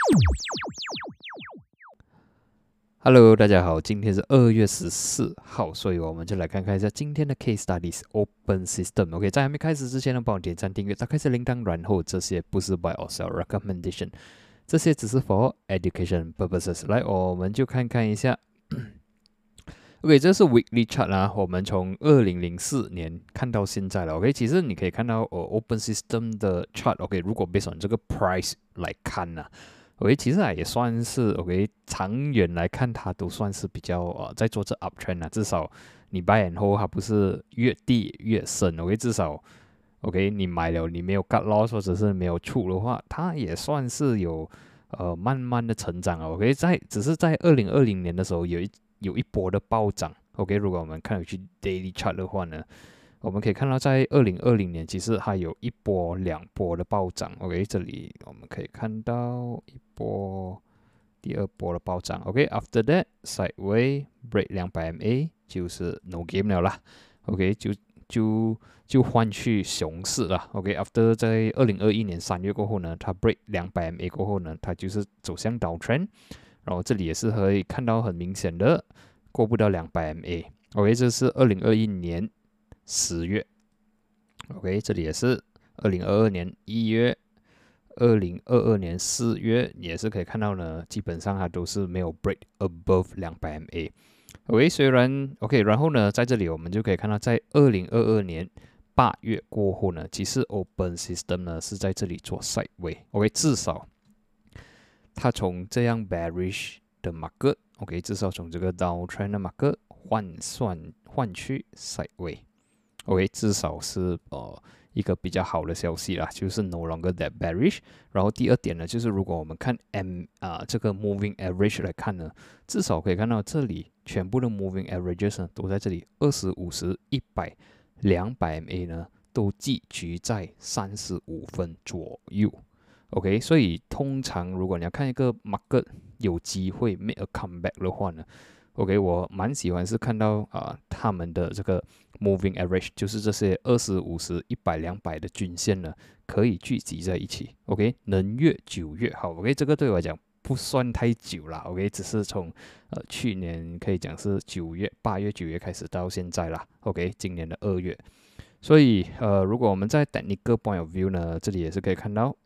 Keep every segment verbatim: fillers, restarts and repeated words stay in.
Hello，大家好，今天是二月十四号，所以我们就来看看一下今天的 Case Studies Open System。OK，在还没开始之前呢，帮我点赞、订阅、打开小铃铛，然后这些不是 Buy or Sell Recommendation，这些只是 for education purposes。来，我们就看看一下。OK， 这是 Weekly Chart 啊，我们从二零零四年看到现在了。OK， 其实你可以看到呃 Open System 的 Chart。OK， 如果 based on 这个 Price 来看呢、啊。OK， 其实啊也算是 OK， 长远来看它都算是比较呃在做这 uptrend 啊，至少你 buy and hold 它不是越低越深 ，OK， 至少 OK 你买了你没有 cut loss 或者是没有出的话，它也算是有呃慢慢的成长啊 ，OK， 在只是在二零二零年的时候有一有一波的暴涨 ，OK， 如果我们看回去 daily chart 的话呢。我们可以看到，在二零二零年，其实还有一波、两波的暴涨。OK， 这里我们可以看到一波、第二波的暴涨。OK，after、okay, that sideway break 两百 M A 就是 no game 了啦。OK， 就就就换去熊市了。OK，after、okay, 在二零二一年三月过后呢，它 break 两百 M A 过后呢，它就是走向 downtrend。然后这里也是可以看到很明显的过不到两百 M A。OK， 这是二零二一年。十月 ，OK， 这里也是二零二二年一月，二零二二年四月也是可以看到呢，基本上它都是没有 break above 两百 M A。OK， 虽然 OK， 然后呢，在这里我们就可以看到，在二零二二年八月过后呢，其实 Open System 呢是在这里做 sideway。OK， 至少它从这样 bearish 的 market，OK， 至少从这个 downtrend 的 market 换算换去 sideway。OK， 至少是呃一个比较好的消息啦，就是 no longer that bearish。然后第二点呢，就是如果我们看 M 啊、呃、这个 moving average 来看呢，至少可以看到这里全部的 moving averages 呢都在这里二十、五十、一百、两百 M A 呢都寄居在三十五分左右。OK， 所以通常如果你要看一个 market 有机会 make a comeback 的话呢。OK， 我蛮喜欢是看到啊、呃，他们的这个 moving average， 就是这些二十、五十、一百、两百的均线呢，可以聚集在一起。OK， 能越久越好。OK， 这个对我来讲不算太久啦。OK， 只是从呃去年可以讲是九月、八月、九月开始到现在啦。OK， 今年的二月。所以呃，如果我们在 technical point of view 呢，这里也是可以看到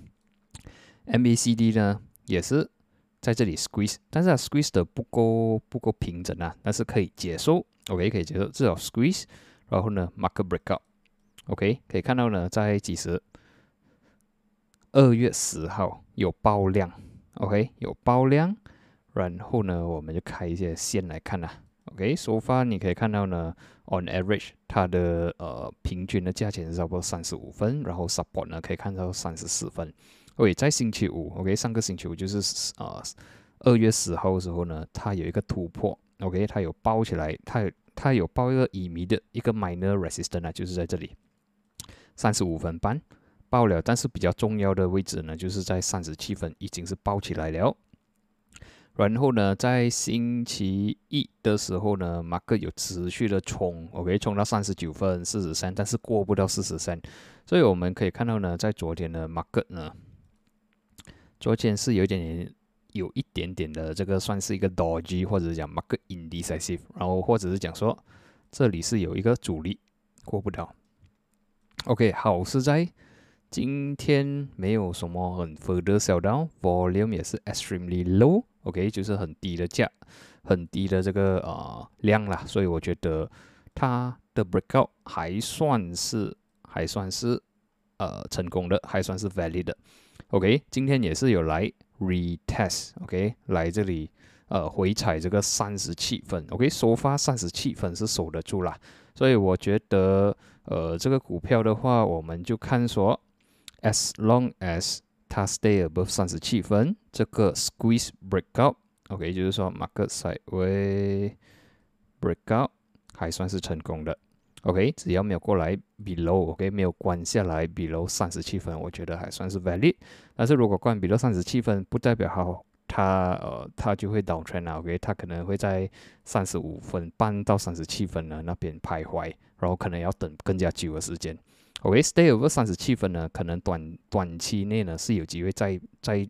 ，M A C D 呢也是。在这里 squeeze， 但是它 squeeze 的不够不够平整啊，但是可以接受 ，OK 可以接受，至少 squeeze， 然后呢 market breakout，OK 可以看到呢，在几时二月十号有爆量 ，OK 有爆量，然后呢我们就开一些线来看啦 ，OK so far 你可以看到呢 on average 它的呃平均的价钱是差不多三十五分，然后 support 呢可以看到三十四分。OK， 在星期五 ，OK， 上个星期五就是呃二月十号的时候呢，它有一个突破 ，OK， 它有包起来，它有它有包一个乙醚的一个 minor resistance 啊，就是在这里三十五分半爆了，但是比较重要的位置呢，就是在三十七分已经是爆起来了。然后呢，在星期一的时候呢 ，market 有持续的冲 ，OK， 冲到三十九分四十三，但是过不到四十三，所以我们可以看到呢，在昨天的 market 呢。昨天是有一点点，有一点点的这个算是一个 dodgy， 或者讲 market indecisive， 然后或者是讲说这里是有一个阻力过不到。OK， 好是在今天没有什么很 further sell down，volume 也是 extremely low，OK， 就是很低的价，很低的这个呃量啦，所以我觉得它的 breakout 还算是还算是呃成功的，还算是 valid 的。OK， 今天也是有来 retest，OK， 来这里呃回踩这个三十七分 ，OK， 首发三十七分是守得住啦，所以我觉得呃这个股票的话，我们就看说 ，as long as 它 stay above 三十七分，这个 squeeze breakout，OK， 就是说 market sideway breakout 还算是成功的。OK， 只要没有过来 below，OK， 没有关下来 below 三十七分，我觉得还算是 valid。但是如果关 below 三十七分，不代表好，它呃它就会 downtrend 啊 ，OK， 它可能会在三十五分半到三十七分呢那边徘徊，然后可能要等更加久的时间。OK，stay over 三十七分呢，可能短短期内呢是有机会再再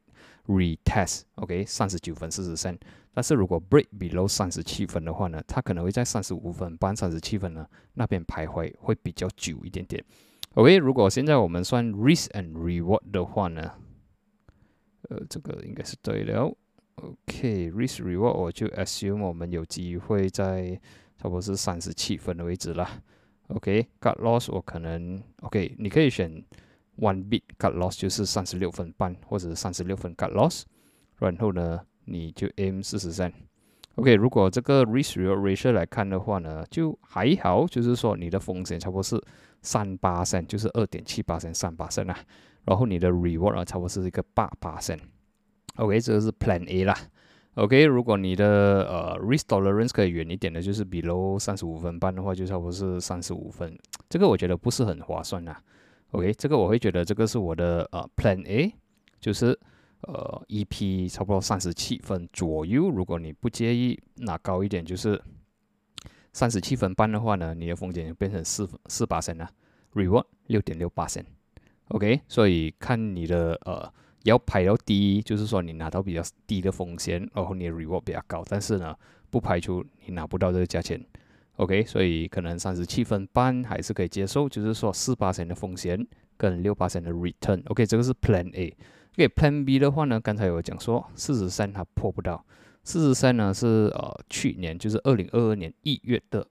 retest，OK， 三十九分四十 cent。但是如果 break below 三十七分的话呢，它可能会在三十五分半、三十七分呢那边徘徊，会比较久一点点。OK， 如果现在我们算 risk and reward 的话呢，呃，这个应该是对了。OK，risk reward 我就 assume 我们有机会在差不多是三十七分的位置啦。OK，cut loss 我可能 OK， 你可以选 one bit cut loss 就是三十六分半或者三十六分 cut loss， 然后呢你就 aim 四十 cent。OK， 如果这个 risk reward ratio 来看的话呢，就还好，就是说你的风险差不多是三八 cent， 就是 二点七八 cent 三八 cent 啊，然后你的 reward 啊差不多是一个八八 cent。OK， 这个是 Plan A 啦。OK， 如果你的呃 risk tolerance 可以远一点的，就是 below 三十五分半的话，就差不多是三十五分。这个我觉得不是很划算啦。OK， 这个我会觉得这个是我的呃 Plan A， 就是呃 E P 差不多三十七分左右。如果你不介意拿高一点，就是三十七分半的话呢，你的风险就变成四四八升了 ，reward 六点六八升。OK， 所以看你的呃。要排到低，就是说你拿到比较低的风险，然后你的 reward 比较高，但是呢，不排除你拿不到这个价钱。OK， 所以可能三十七分半还是可以接受，就是说四八的风险跟六八的 return。OK， 这个是 Plan A。OK，Plan B 的话呢，刚才有讲说四十三它破不到，四十三呢是呃去年就是二零二二年一月的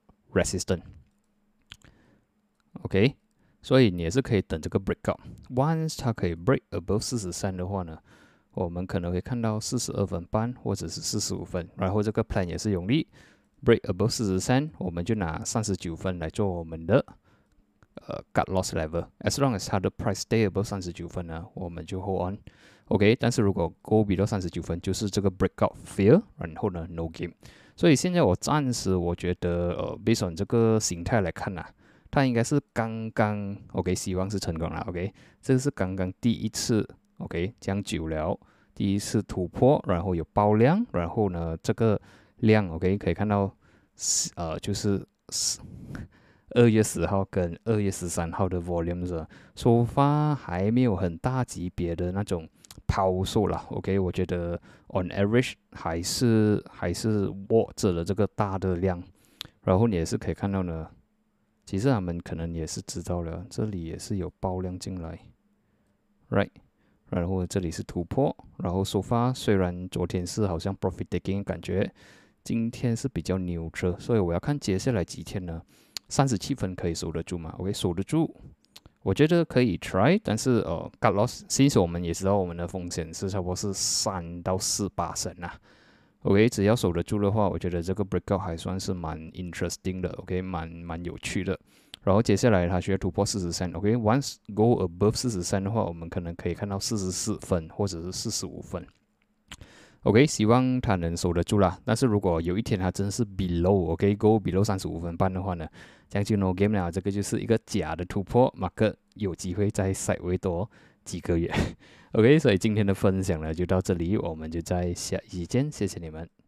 resistance。OK。所以你也是可以等这个 breakout。Once 它可以 break above 四十三的话呢，我们可能会看到四十二分半或者是四十五分。然后这个 plan 也是用力 break above 四十三，我们就拿三十九分来做我们的呃 cut loss level。As long as 它的 price stay above 三十九分呢，我们就 hold on。OK， 但是如果 go below 三十九分，就是这个 breakout fail， 然后呢 no game。所以现在我暂时我觉得呃 based on 这个形态来看呐、啊。它应该是刚刚 OK， 希望是成功了 OK， 这个是刚刚第一次 OK， 这样久了第一次突破，然后有爆量，然后呢这个量 OK 可以看到呃就是二月十号跟二月十三号的 volume 是收发还没有很大级别的那种抛售了 OK， 我觉得 on average 还是还是握着了这个大的量，然后你也是可以看到呢。其实他们可能也是知道了，这里也是有爆量进来 ，right， 然后这里是突破，然后收发虽然昨天是好像 profit taking 感觉，今天是比较牛车，所以我要看接下来几天呢，三十七分可以守得住吗 ？OK， 守得住，我觉得可以 try， 但是呃 cut loss， 其实我们也知道我们的风险是差不多是三到四八成啊。OK， 只要守得住的话，我觉得这个 breakout 还算是蛮 interesting 的 ，OK， 蛮蛮有趣的。然后接下来它需要突破四十三 ，OK，once go above 四十三的话，我们可能可以看到四十四分或者是四十五分。OK， 希望它能守得住啦。但是如果有一天它真是 below，OK，go below 三十五分半的话呢，这样就 no game 了。这个就是一个假的突破，马克有机会再 sideway 多几个月。OK， 所以今天的分享呢就到这里，我们就在下一期见，谢谢你们。